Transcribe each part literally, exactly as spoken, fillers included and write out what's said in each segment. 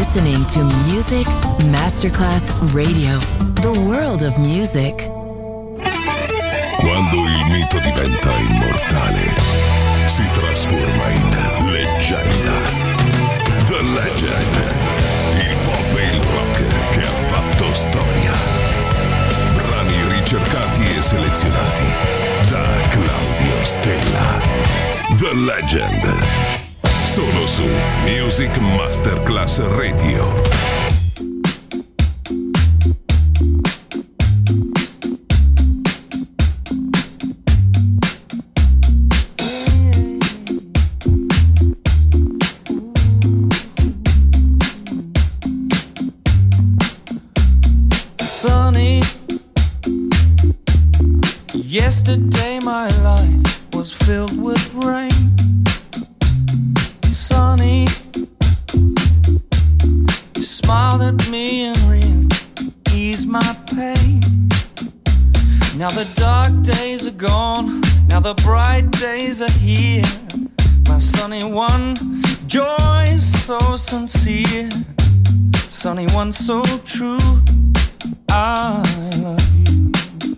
listening to Music Masterclass Radio, the world of music. Quando il mito diventa immortale, si trasforma in leggenda. The Legend, il pop e il rock che ha fatto storia. Brani ricercati e selezionati da Claudio Stella. The Legend, solo su Music Masterclass Radio. Yesterday my life was filled with rain. Sunny, you smiled at me and really eased my pain. Now the dark days are gone, now the bright days are here. My sunny one, joy is so sincere. Sunny one, so true, I love you.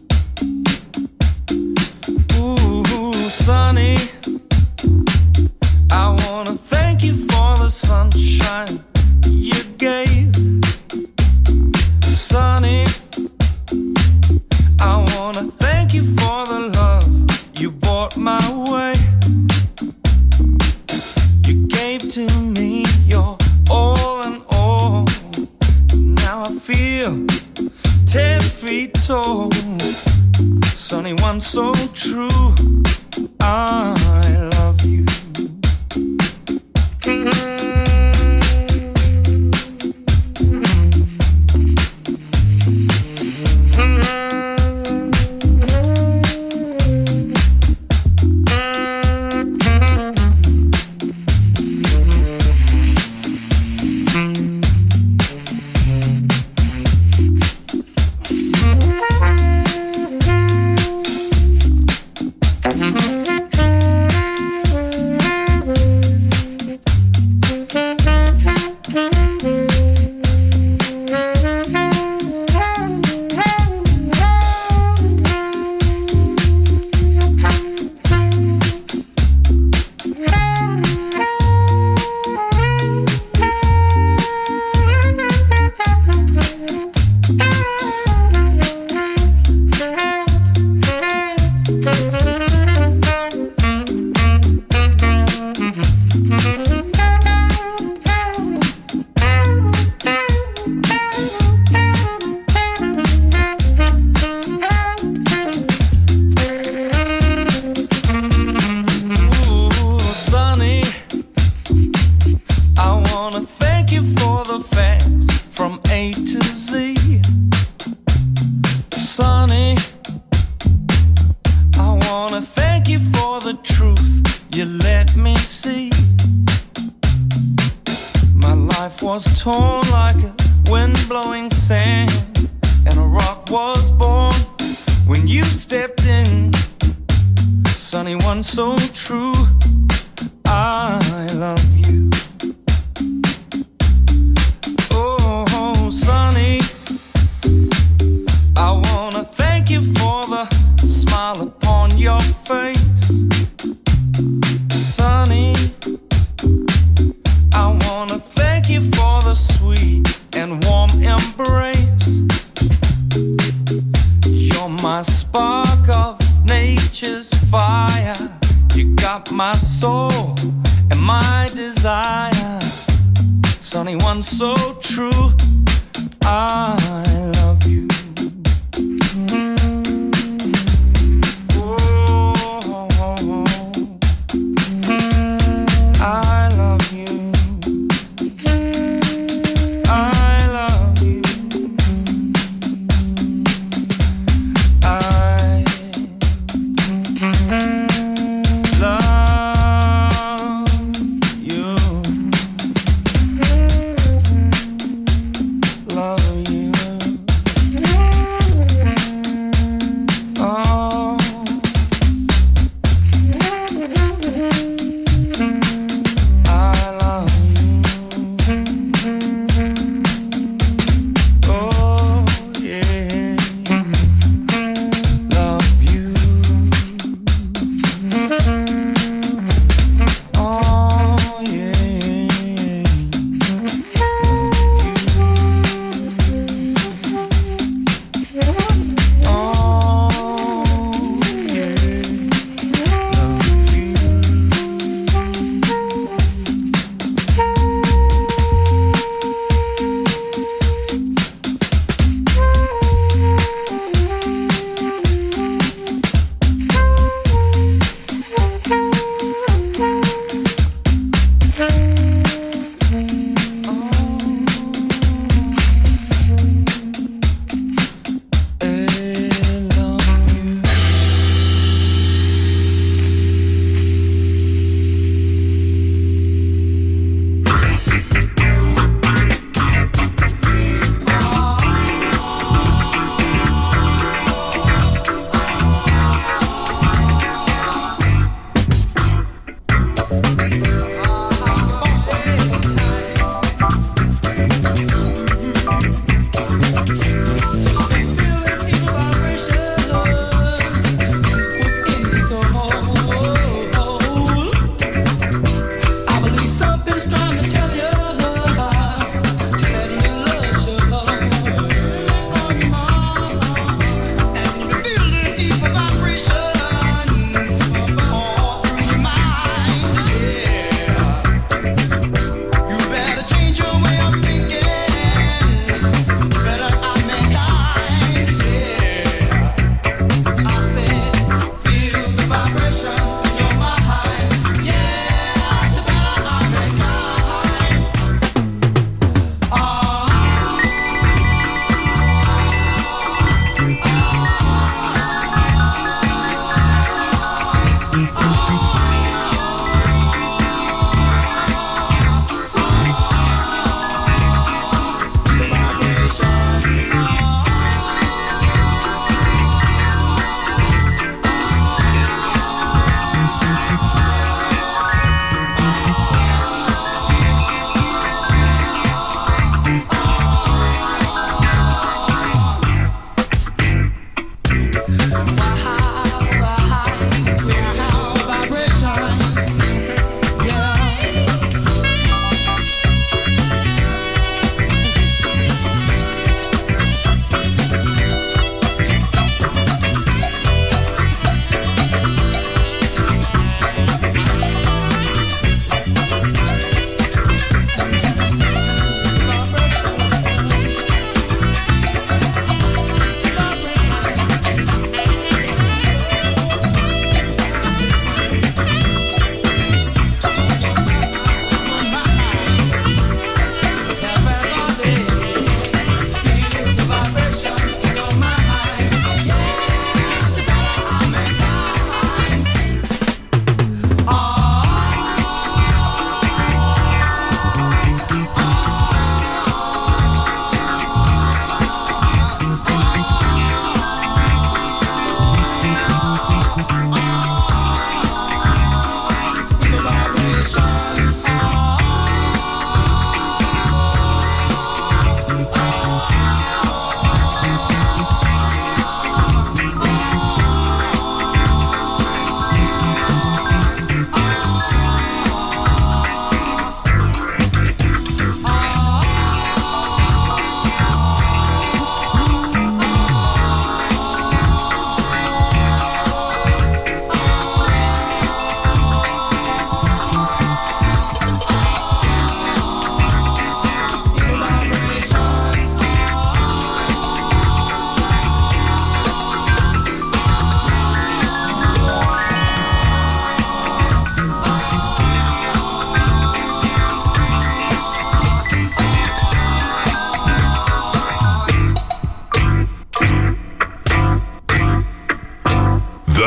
Ooh, sunny, I wanna thank you for the sunshine you gave. Sunny, I wanna thank you for the love you brought my way. You gave to me your all in all. Now I feel ten feet tall. Sunny one, so true, I love you. Love you.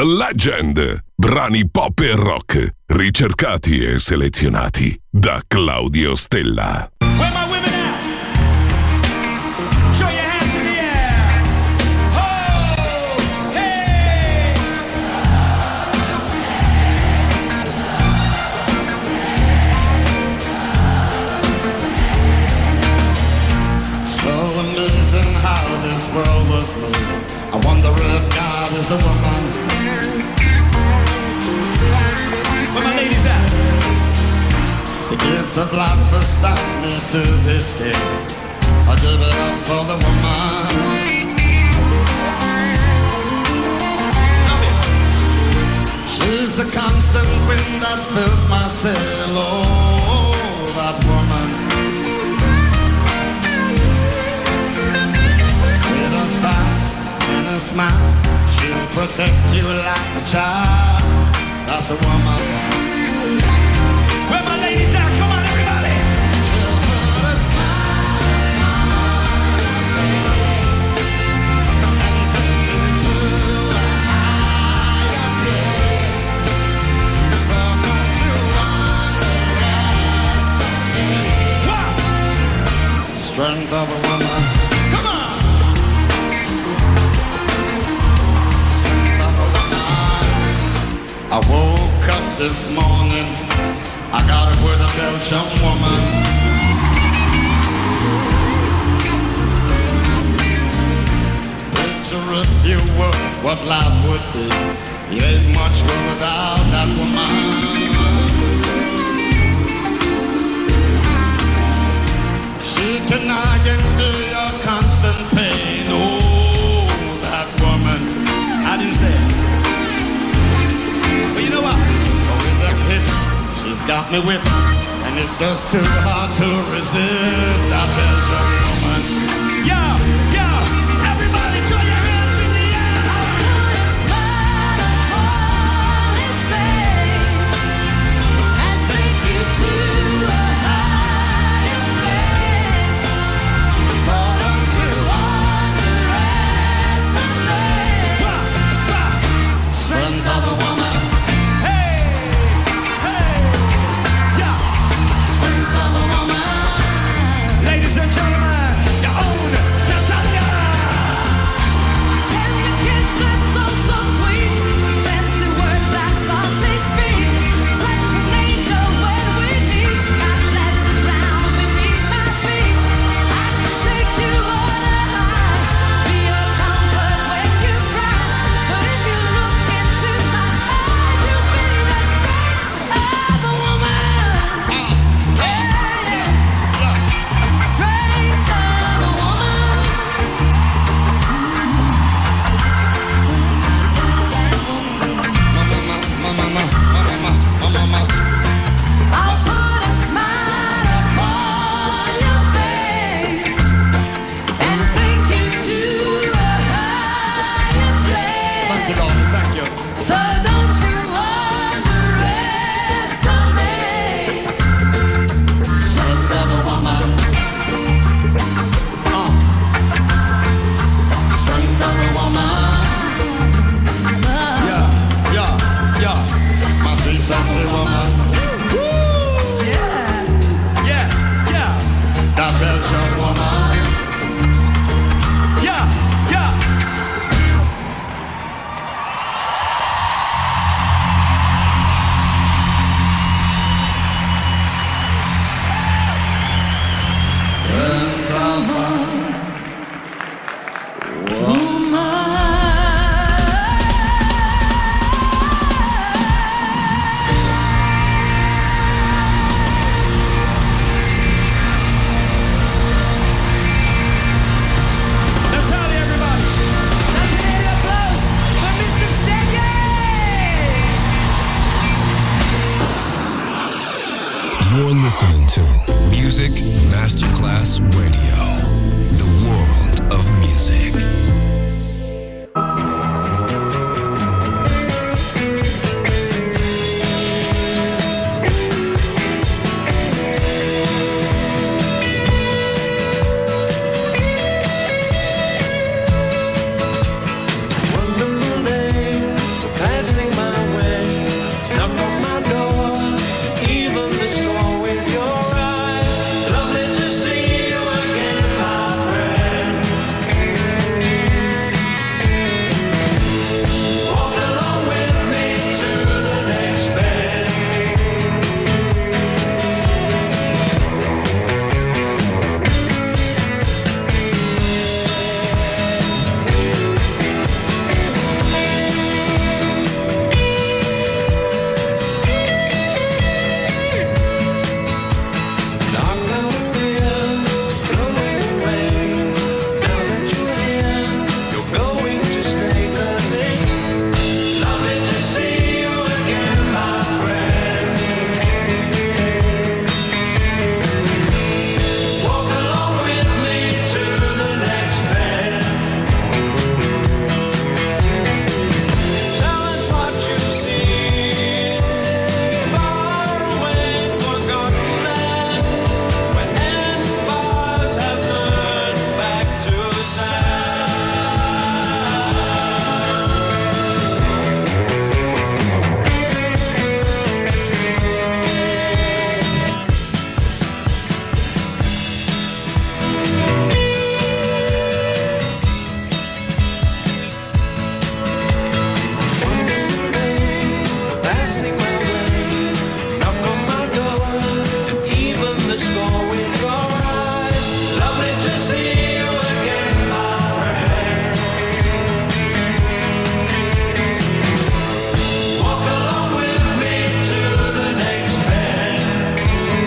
Legend, brani pop e rock, ricercati e selezionati da Claudio Stella. Where my women at? Show your hands in the air. Oh, hey. So amazing how this world was made. I wonder if God is a woman. Where my ladies at? The gift of life astounds me to this day. I give it up for the woman. She's the constant wind that fills my sail. Oh, that woman. With a style and a smile, she'll protect you like a child. That's a woman. Where my ladies at? Come on, everybody. She'll put a smile on your face and take you to a higher place. So don't you underestimate What? strength of a woman. Come on. Strength of a woman. I woke up this morning, I got it with a Belgian woman. Picture if you were what life would be. You ain't much good without that woman. She can endure your constant pain. Oh, that woman. I didn't say it. But you know what? With the hits, she's got me whipped, and it's just too hard to resist that Belgian woman. Yo, yo, everybody throw your hands in the air. So don't you underestimate Wah, wah. strength of a woman. Hey, hey, yeah. Strength of a woman. Ladies and gentlemen, your own Natalia. Tender kisses so, so sweet. Gentle words I softly speak. Such an angel when we meet. God bless the ground beneath my feet. I can take you on a high. Be your comfort when you cry. But if you look into my eyes, you'll be the strength of a woman. Yeah, yeah. Strength of a woman. Mama, mama, mama, mama, mama. I'll put a smile upon your face and take you to a higher Thank you, place. darling, thank you. So don't you underestimate Strength of a woman. Uh. Strength of a woman. Yeah, yeah, yeah. My sweet sexy woman. Yeah, yeah, That Belgian woman. yeah, yeah. Natalia, everybody. Let's get up close for Mister Shaggy. You're listening to Music Masterclass Radio, the world of music. Wonderful day, the score with your eyes. Lovely to see you again, my friend. Walk along with me to the next bend.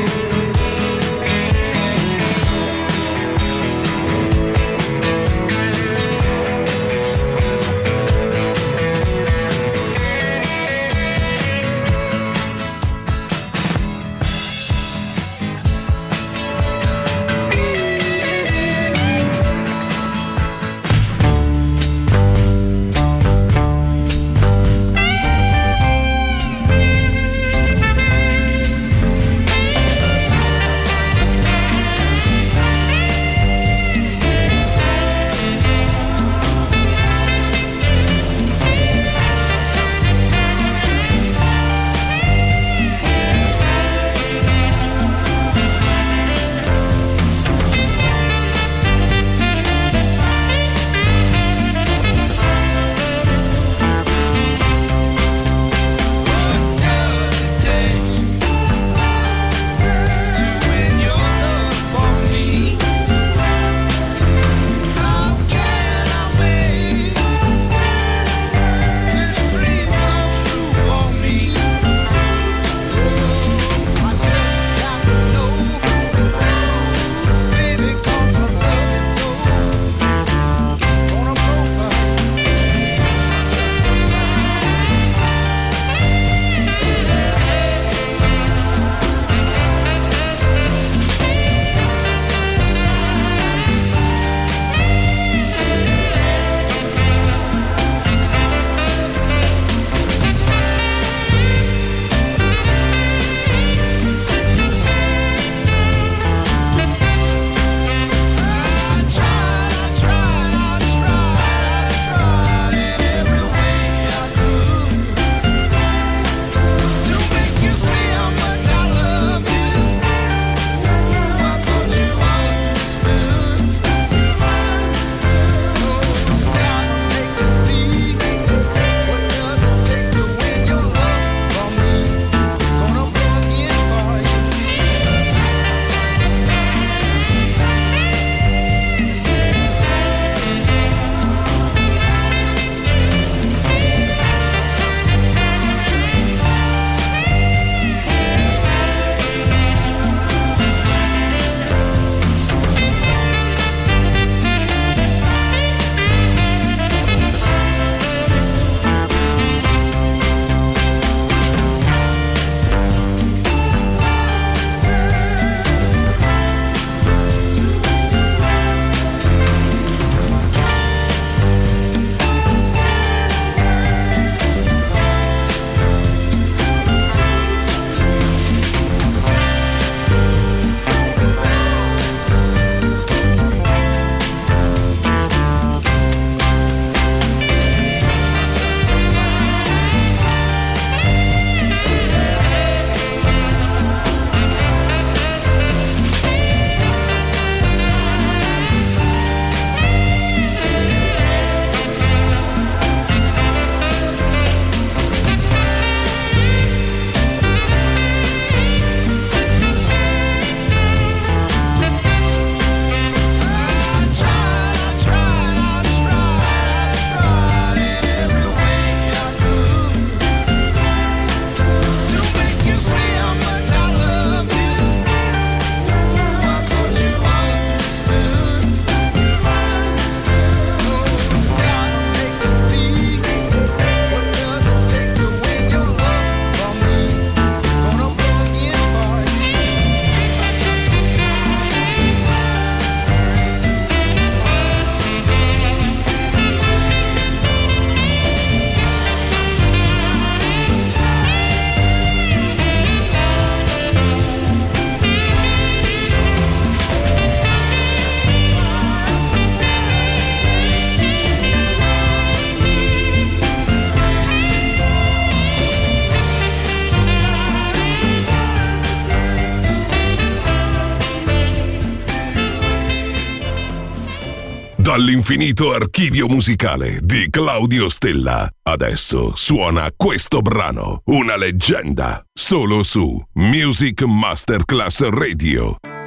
Dall'infinito archivio musicale di Claudio Stella. Adesso suona questo brano, una leggenda, solo su Music Masterclass Radio.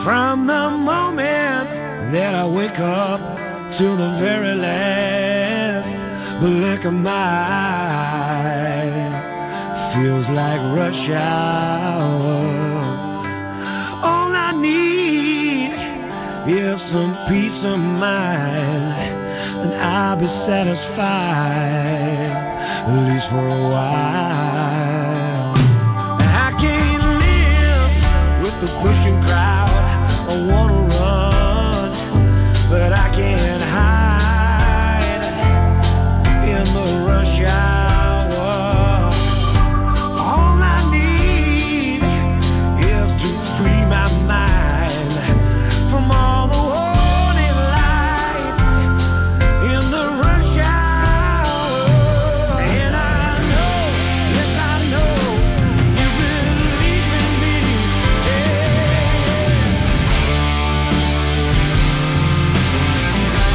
From the moment that I wake up to the very last blink of my eye, feels like rush hour. All I need is some peace of mind, and I'll be satisfied, at least for a while. I can't live with the pushing crowd. I wanna run, but I can't hide in the rush hour. All I need is to free my mind from all the warning lights in the rush hour. And I know, yes I know, you believe in me. Yeah.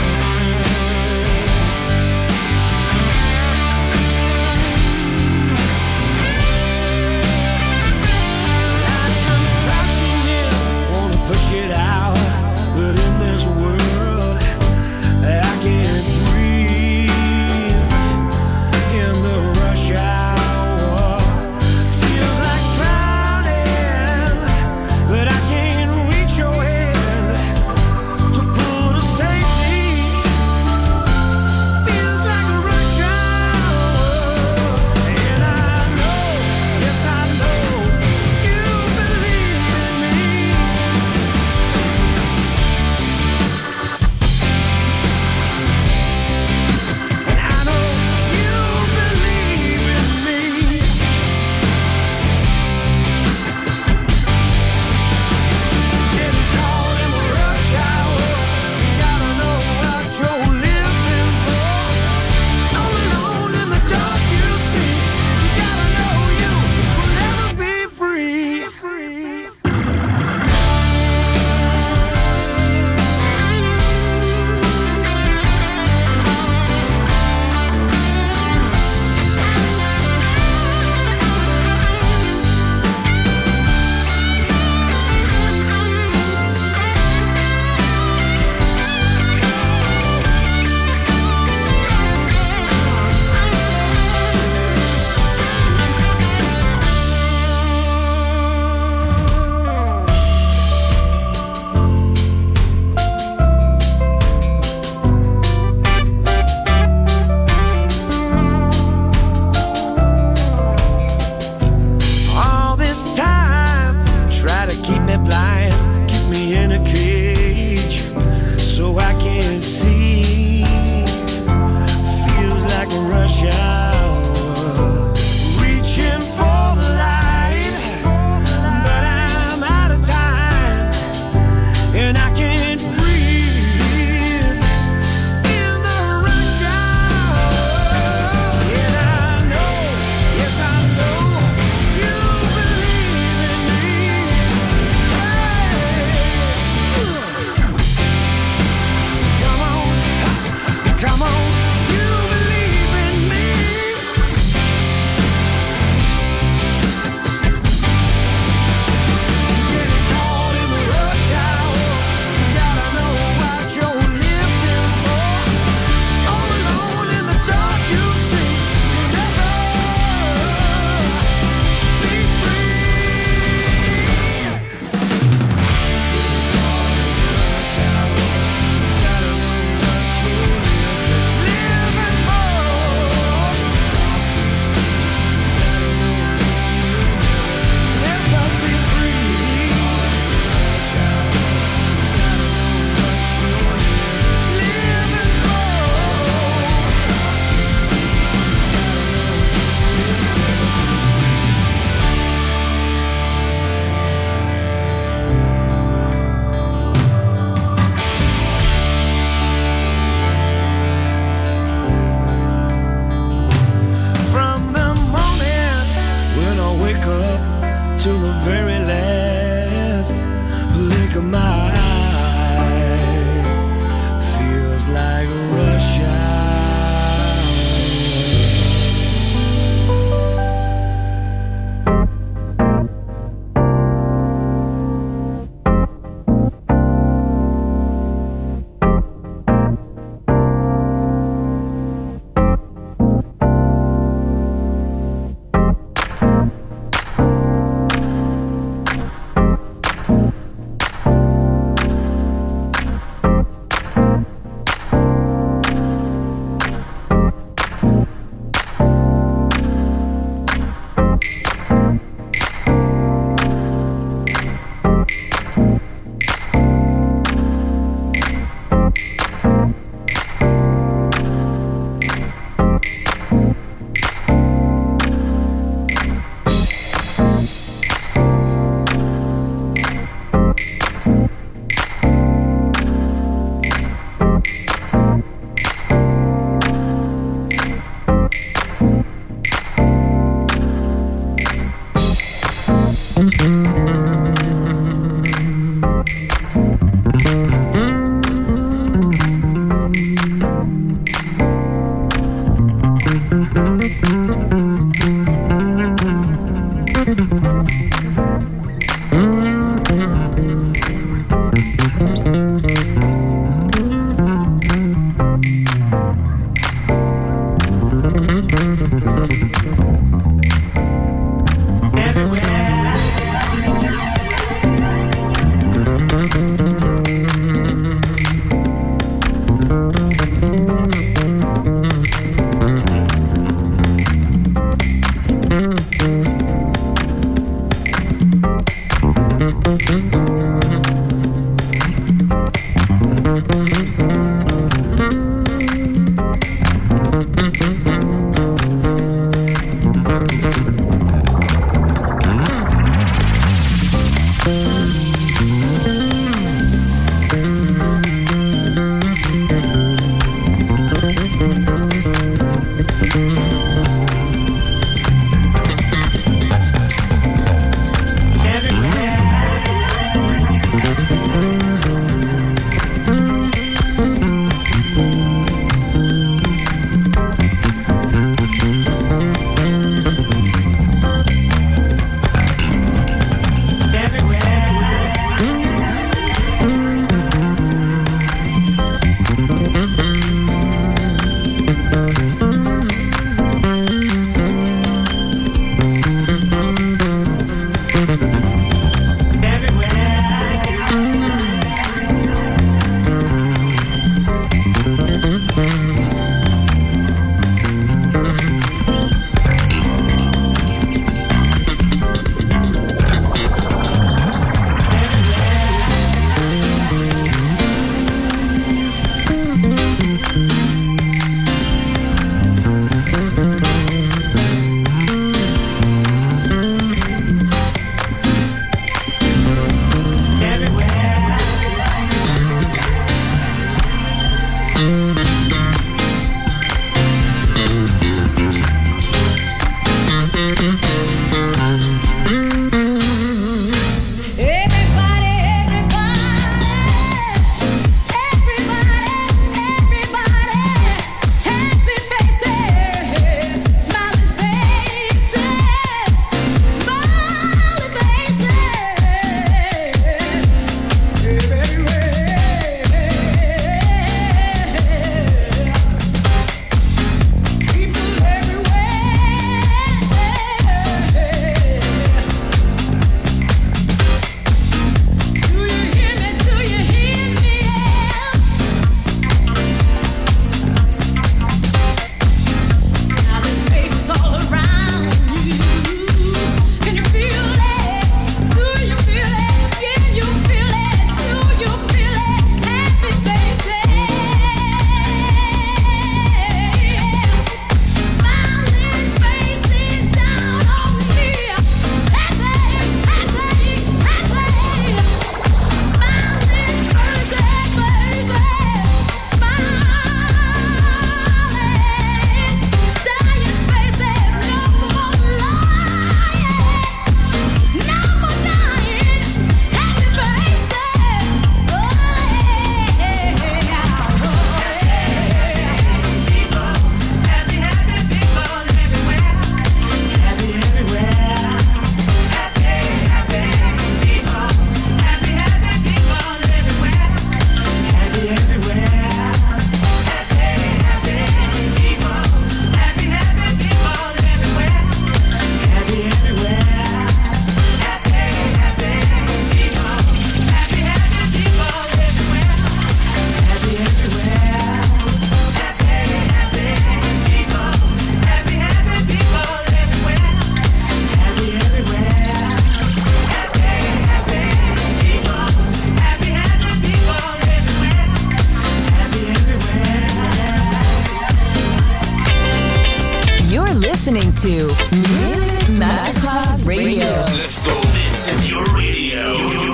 listening to Music Masterclass Radio. Let's go. This is your radio.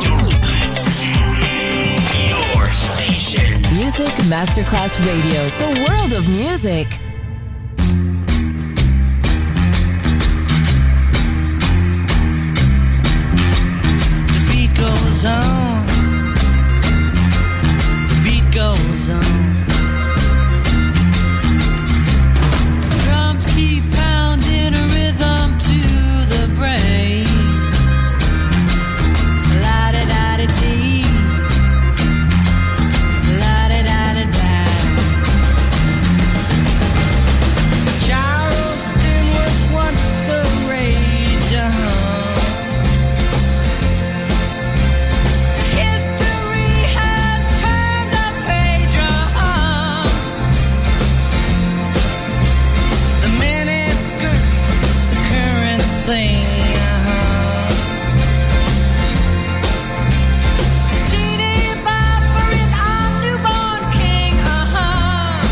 Your station. Music Masterclass Radio. The world of music. goes on. The beat goes on. Drums keep pounding a rhythm to the brain. La-da-da-da-dee. La-da-da-da-da. Charleston was once the rage, uh-huh. History has turned a page, uh-huh. The miniskirt, the current thing, uh-huh. Teeny bopper is our newborn king, uh-huh.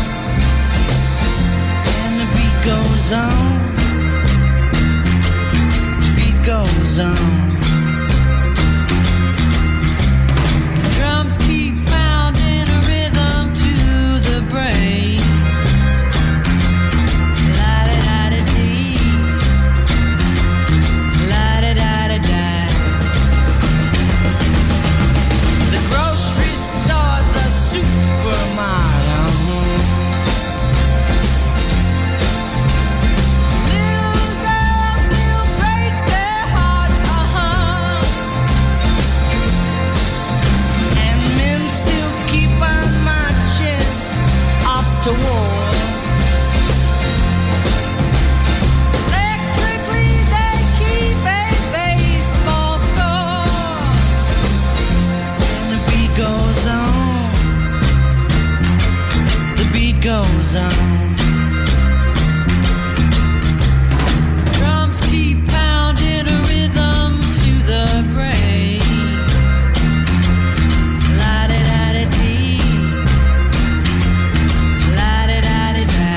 And the beat goes on. The beat goes on. Drums keep pounding a rhythm to the brain. La-da-da-da-dee. La-da-da-da-da. The grocery store, the supermarket, uh-huh. Little girls still break their hearts, uh-huh. And men still keep on marching off to war. Electrically they keep a baseball score. And the beat goes on. The beat goes on. Drums keep pounding a rhythm to the brain. La-da-da-da-dee. La-da-da-da-da.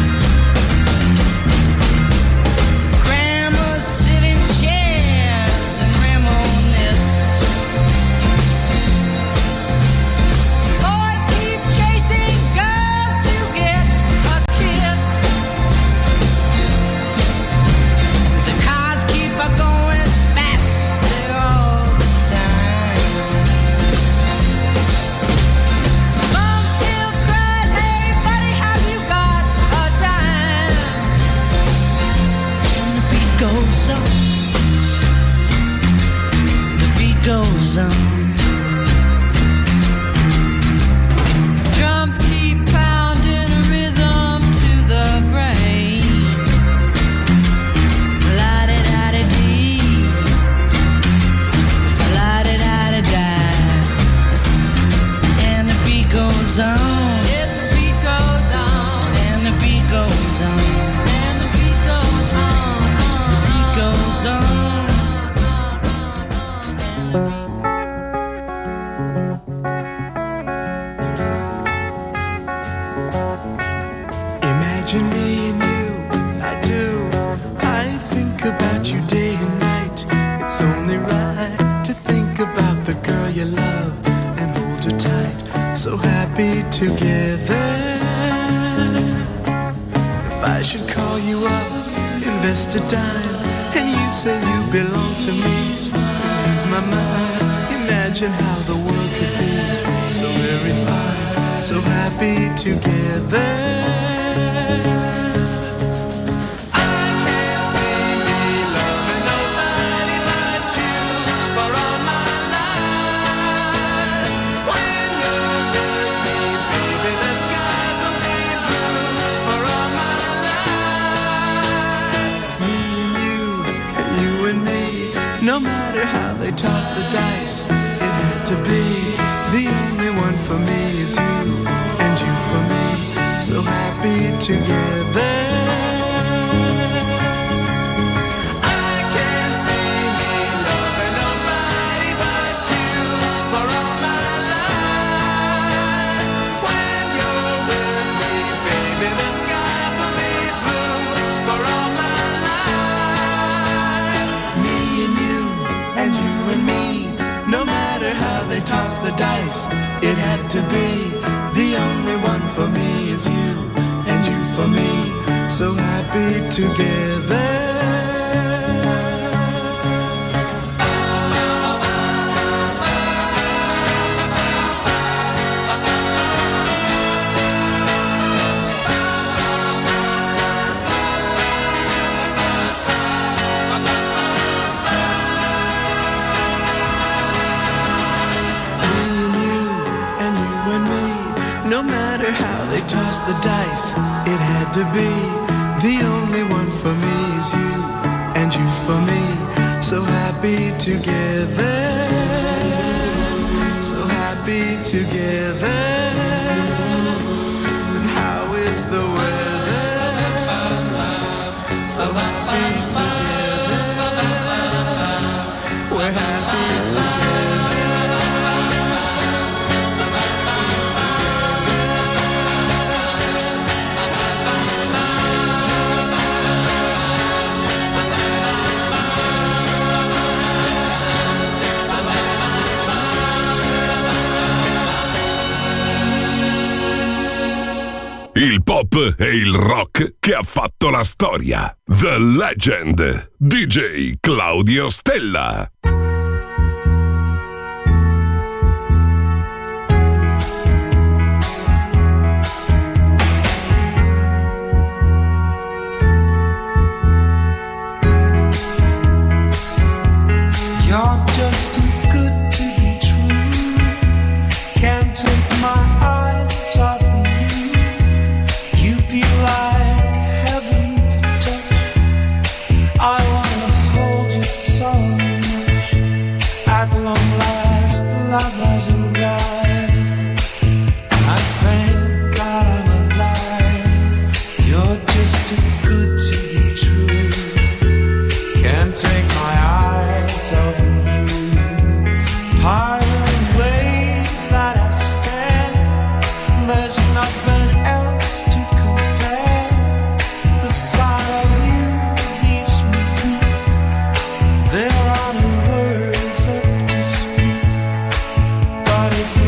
Grandmas sit in chairs and reminisce. Boys keep chasing girls to get a kiss. The cars keep a going faster all the time. Mom still cries, hey buddy, have you got a dime? And the beat goes on. The beat goes on. Drums keep pounding a rhythm to the brain. La-da-da-da-dee. La-da-da-da-da. And the beat goes on. Yes, the beat goes on. And the beat goes on. And the beat goes on. The beat goes on. Imagine me and you, I do. I think about you day and night. It's only right to think about the girl you love and hold her tight. So happy together. If I should call you up, invest a dime, and you say you belong to me, ease my mind. Imagine how the world could be so very fine, so happy together. I can't see me loving nobody but you for all my life. When you're with me, baby, the skies will be blue for all my life. Me and you, and you and me, no matter how they toss the dice, it had to be. The only one for me is you, and you for me, so happy together. I can't see me loving nobody but you for all my life. When you're with me, baby, the skies will be blue for all my life. Me and you, and you and me, no matter how they toss the dice, it had to be. The only one for me is you, and you for me, so happy together. place it had to be. The only one for me is you, and you for me. So happy together, so happy together. And how is the weather? So happy together, we're happy together. So happy Il pop e il rock che ha fatto la storia. The Legend. D J Claudio Stella. You're just too good to be true. Can't take my eyes off of you. You'd be like heaven to touch. I wanna hold you so much. At long last, love has arrived. I thank God I'm alive. You're just too good to be true. Can't take my eyes off of you. Part of the way that I stand, there's nothing else to compare. The sight of you leaves me weak. There are no words left to speak. But if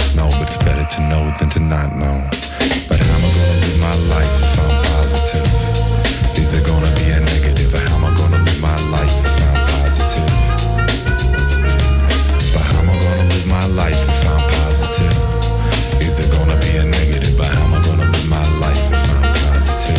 just know, but it's better to know than to not know. But how am I gonna live my life if I'm positive? Is it gonna be a negative? Or how am I gonna live my life if I'm positive? But how am I gonna live my life if I'm positive? Is it gonna be a negative? But how am I gonna live my life if I'm positive?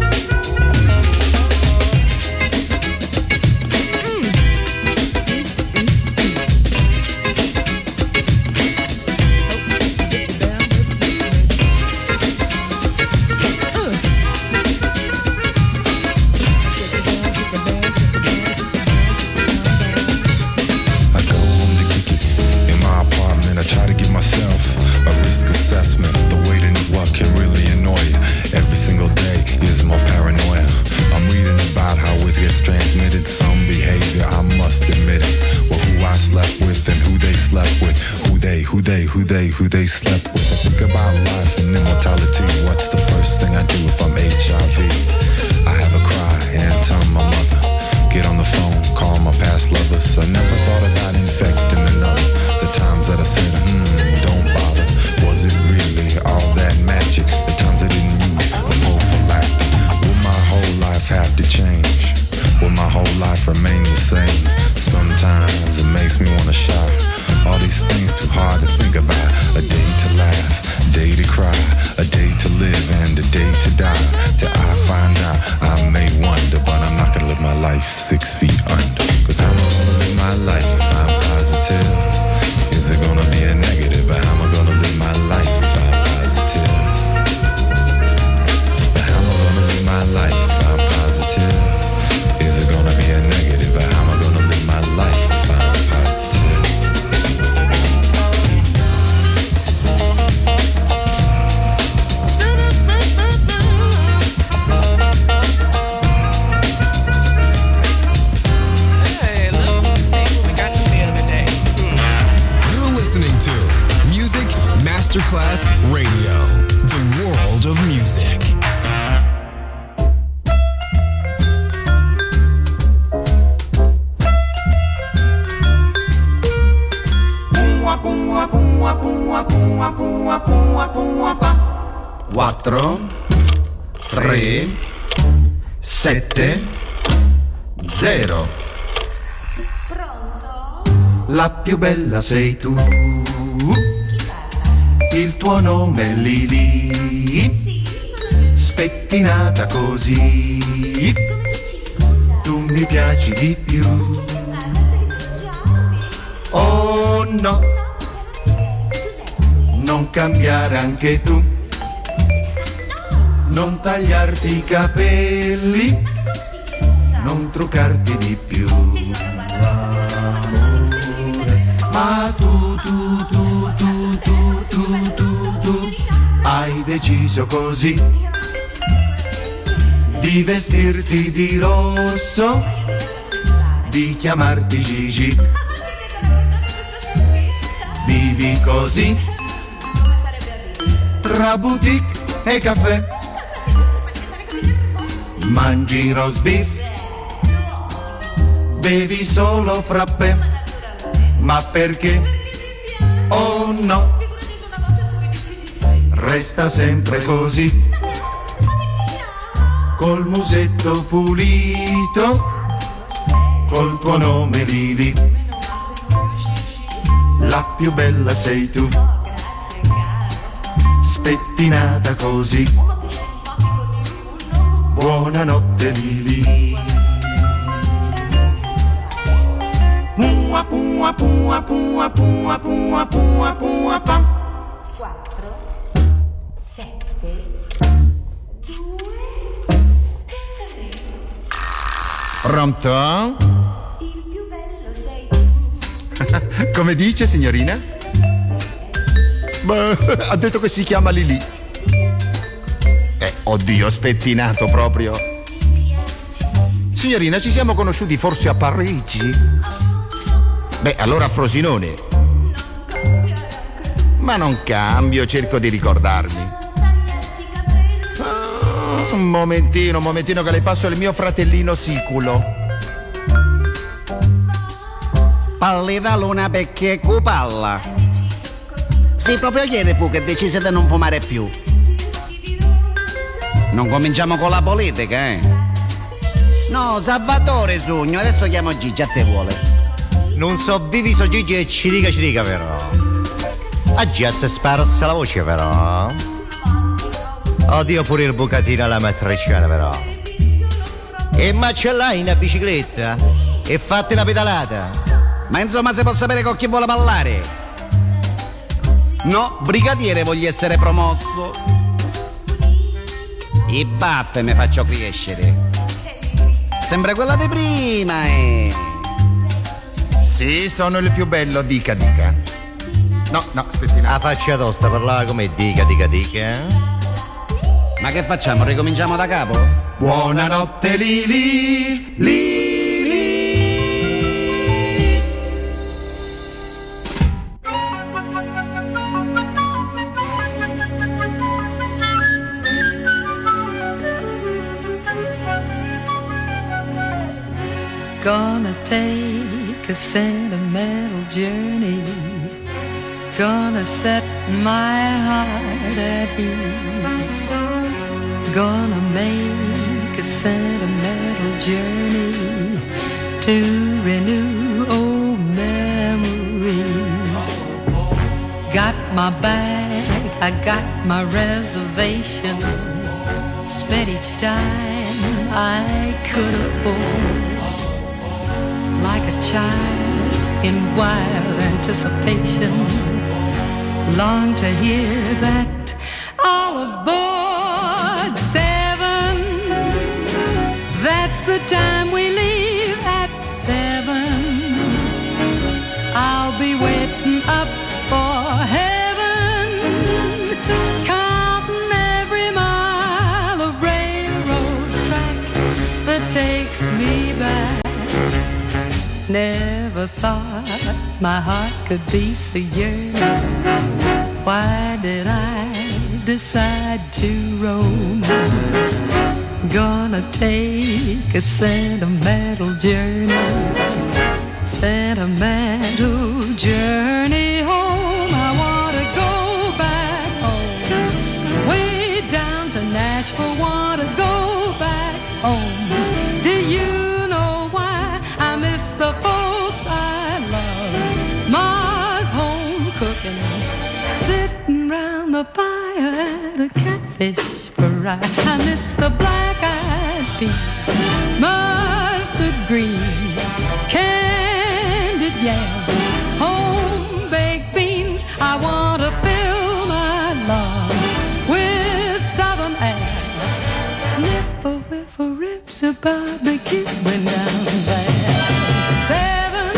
Transmitted some behavior, I must admit it. Well, who I slept with and who they slept with. Who they, who they, who they, who they slept with. I think about life and immortality. What's the first thing I do if I'm H I V? I have a cry and tell my mother. Get on the phone, call my past lovers. I never thought about infecting another. The times that I said, hmm, don't bother. Was it really all that magic? The times I didn't use a prophylactic. Will my whole life have to change? Will my whole life remain the same? Sometimes it makes me wanna shout. All these things too hard to think about. A day to laugh, a day to cry, a day to live and a day to die. Till I find out, I may wonder, but I'm not gonna live my life six feet under. Cause how am I gonna live my life if I'm positive? Is it gonna be a negative? But how am I gonna live my life if I'm positive? But how am I gonna live my life if I'm positive? Is it gonna be a negative? Or how am I gonna live my life if I'm positive? Hey, look, see what we got in the mail today. You're listening to Music Masterclass Radio, the world of music. quattro, tre, sette, zero. La più bella sei tu. Il tuo nome è Lili. Spettinata così. Tu mi piaci di più. Oh no, non cambiare anche tu. Non tagliarti i capelli, non truccarti di più. Amore, ma tu, tu, tu, tu, tu, tu, tu, tu, hai deciso così di vestirti di rosso, di chiamarti Gigi. Vivi così tra boutique e caffè, mangi roast beef, bevi solo frappè. Ma perché? Oh no, resta sempre così, col musetto pulito, col tuo nome Lili. La più bella sei tu, spettinata così. Buonanotte Lili. Pua pua pua pua pua pua pua pua pam. quattro, sette, due, tre. Pronto? Il più bello sei tu. Come dice, signorina? Beh, ha detto che si chiama Lili. Eh, oddio, spettinato proprio. Signorina, ci siamo conosciuti forse a Parigi? Beh, allora a Frosinone. Ma non cambio, cerco di ricordarmi. Ah, un momentino, un momentino che le passo il mio fratellino siculo. Pallida luna perché cupalla. Sì, proprio ieri fu che decise di non fumare più. Non cominciamo con la politica, eh? No, Salvatore Sogno, adesso chiamo Gigi, a te vuole. Non so vivi so Gigi e cirica cirica però. Oggi a se sparsa la voce però. Oddio pure il bucatino alla matriciana però. E macellai una bicicletta e fatti una pedalata. Ma insomma se può sapere con chi vuole parlare. No, brigadiere voglio essere promosso. I baffe mi faccio crescere. Sembra quella di prima, eh. Sì, sono il più bello, dica dica. No, no, aspetti. La faccia tosta parlava come dica dica dica, eh? Ma che facciamo? Ricominciamo da capo? Buonanotte Lili, Lili. Gonna take a sentimental journey. Gonna set my heart at ease. Gonna make a sentimental journey to renew old memories. Got my bag, I got my reservation. Spent each dime I could afford. Like a child in wild anticipation, long to hear that all aboard seven. That's the time we leave at seven. I'll be waiting up for heaven, counting every mile of railroad track that takes me back. Never thought my heart could be so yearning. Why did I decide to roam? Gonna take a sentimental journey, sentimental journey home. I wanna go back home, way down to Nashville. Wanna go back home. Do you the folks I love? Ma's home cooking, sitting round the fire at a catfish fry. I miss the black-eyed peas, mustard greens, candied yams, home-baked beans. I want to fill my lungs with southern air, sniff a whiff of ribs of barbecue when down there. Seven,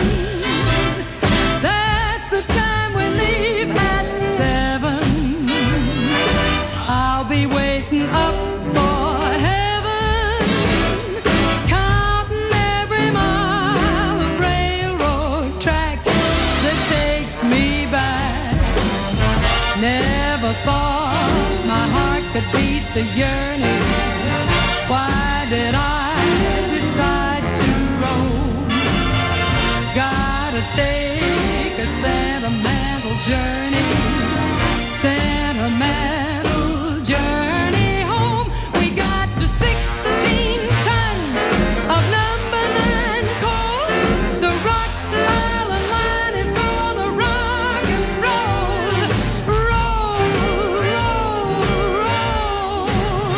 that's the time we leave at seven. I'll be waiting up for heaven, counting every mile of railroad track that takes me back. Never thought my heart could be so yearning. Why did I decide to roam? Gotta take a sentimental journey, sentimental journey home. We got to sixteen tons of number nine coal. The Rock Island line is gonna rock and roll, roll, roll, roll.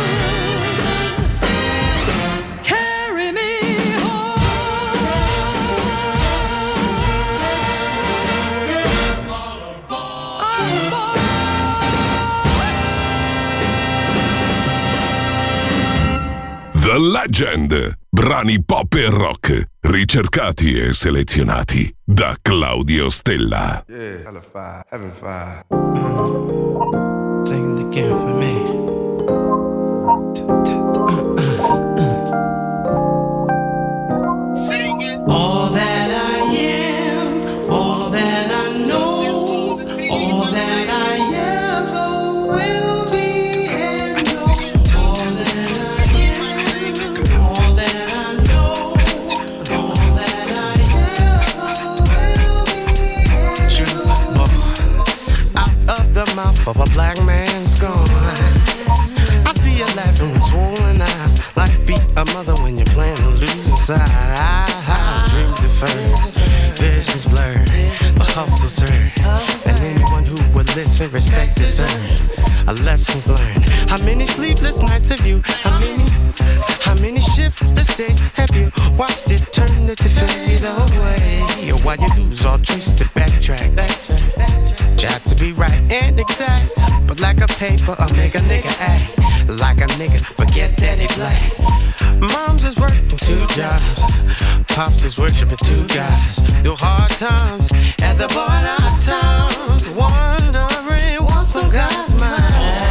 Carry me The Legend. Brani pop e rock, ricercati e selezionati da Claudio Stella. Yeah, hella fire, having fire. Sing it again for me. Sing it. All that I am, all that I know, all that I ever will be, and all that I am, all that I know, all that I ever will be. Out of mouth of a black man's gone. I see you laughing with swollen eyes. Life beat a mother when you're playing the losing side. I, I, dreams deferred, visions blurred, the hustle served, and anyone who would listen, respect is earned. A lessons learned. How many sleepless nights have you? How many? How many shiftless days have you watched eternity fade away? Or while you lose all trace to backtrack, backtrack. Try to be right and exact, but like a paper, I'll make a nigga act like a nigga. Forget that he black. Mom's is working two jobs, pops is worshiping two guys. Through hard times at the border of towns, wondering what's on God's mind.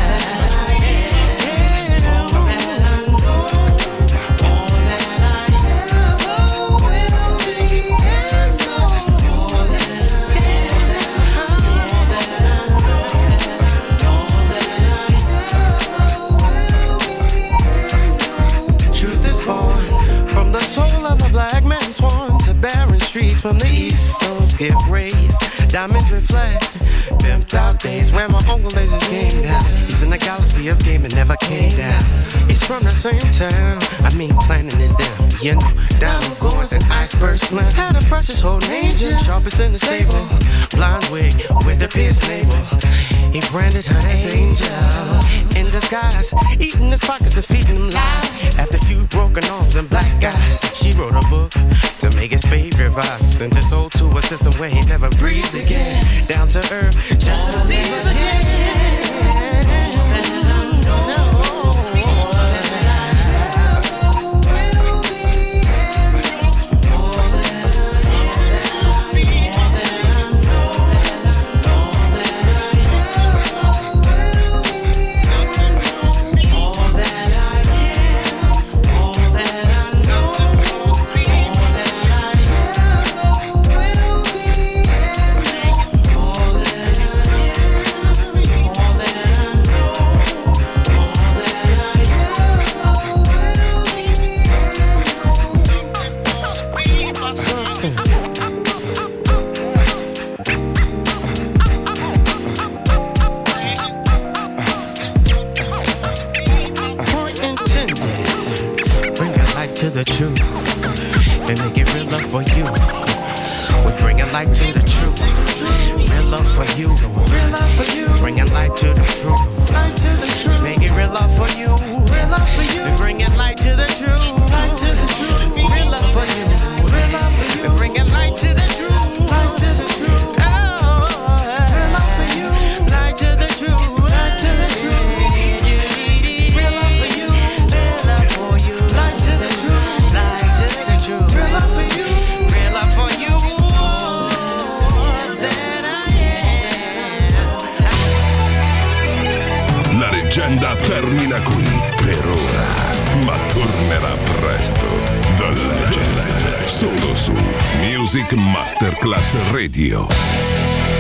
From the east, souls give rays, diamonds reflect, pimped out days where my uncle lays his game down. He's in the galaxy of game and never came down. He's from the same town, I mean planning is down. You know, down goings and iceberg slim. Had a precious whole angel, sharpest in the stable. Blonde wig with the pierced navel. He branded her as angel in disguise, eating his pockets and feeding him lies. After a few broken arms and black eyes, she wrote a book to make his favorite vice. Sent his soul to a system where he never breathed again. Down to earth, just to leave again. The truth and make it real love for you. We bring a light to the truth. Real love for you. Real love for you. Bring a light to the truth. Light to the truth. Make it real love for you. Real love for you. We bring it light to the truth. Light to the truth. Real love for you. Real love for you. We bring it light to the truth. Light to the truth. Oh, real love for you. Light to the truth. Light to the truth. Real love for you. Real love for you. Light to the truth. Real love for you, real love for you, that I am. La leggenda termina qui per ora, ma tornerà presto. The Legend, solo su Music Masterclass Radio.